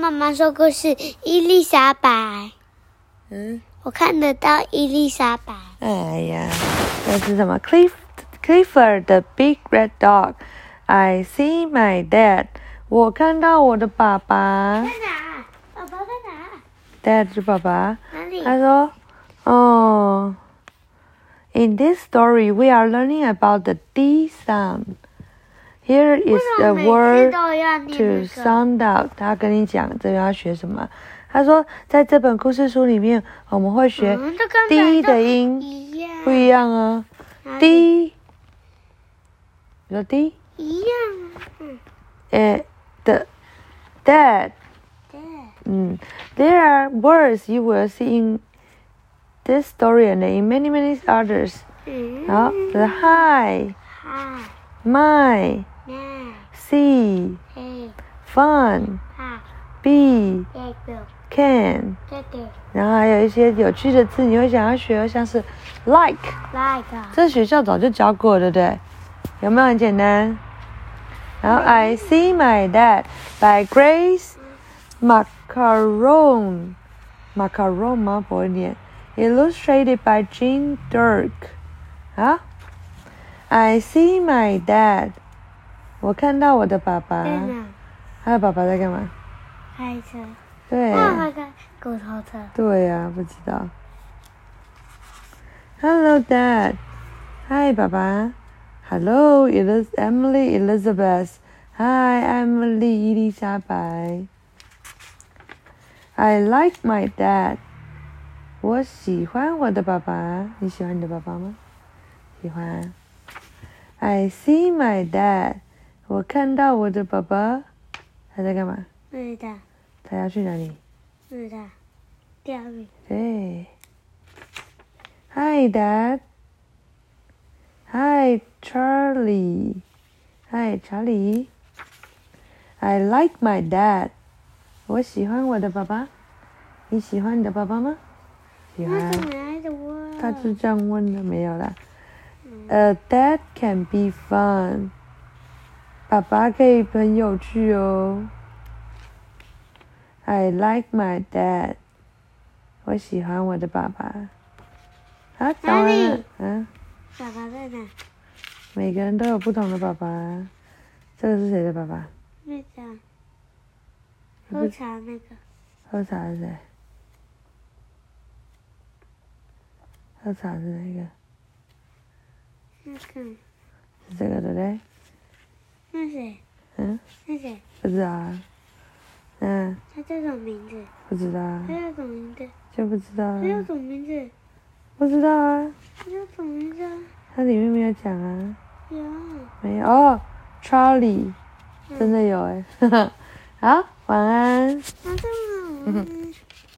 妈妈说故事，伊丽莎白。我看得到伊丽莎白。 哎呀，这是什么 ？Clifford the Big Red Dog. I see my dad. 我看到我的爸爸。 在哪？爸爸在哪 ？Dad 是爸爸。 哪里？ 他说：“哦。In this story, we are learning about the D sound. Here is the word to sound out. 他跟你讲这个要学什么？他说，在这本故事书里面，我们会学 D 的音，不一样啊。D， 你说 D？ 一样。 的 Dad. There are words you will see in this story and in many others. 好，这是 Hi。My, see, fun, be, can， 然后还有一些有趣的字你会想要学，像是 like， 这学校早就教过，对不对？有没有很简单？然后 I see my dad by Grace Macaron 吗？不会念。Illustrated by Jean Dirk。好。I see my dad. 我看到我的爸爸。他的爸爸在干嘛？ 开车。 对。 骨头车。 对呀，不知道。Hello, Dad. Hi, 爸爸。Hello, Emily Elizabeth. Hi, Emily 伊丽莎白。I like my dad. 我喜欢我的爸爸。你喜欢你的爸爸吗？喜欢。I see my dad. 我看到我的爸爸。他在干嘛？ 不知道。 他要去哪里？ 不知道。钓鱼。 对。Hi, Dad. Hi, Charlie. Hi, Charlie. I like my dad. 我喜欢我的爸爸。你喜欢你的爸爸吗？喜欢。他是这样问的，没有啦。Dad can be fun. 爸爸可以很有趣哦。I like my dad. 我喜欢我的爸爸。好，讲完了。 爸爸在哪？ 每个人都有不同的爸爸。这个是谁的爸爸？ 那个。喝茶那个。 喝茶是谁？喝茶是哪个？ 那个。 是这个对不对？ 那谁？那谁？ 不知道啊。 他叫什么名字？ 不知道啊。 他叫什么名字？ 就不知道啊。 他叫什么名字？ 不知道啊。 他叫什么名字啊？ 它里面没有讲啊。 有。 没有哦 ，Charlie， 真的有哎。好，晚安。 晚安。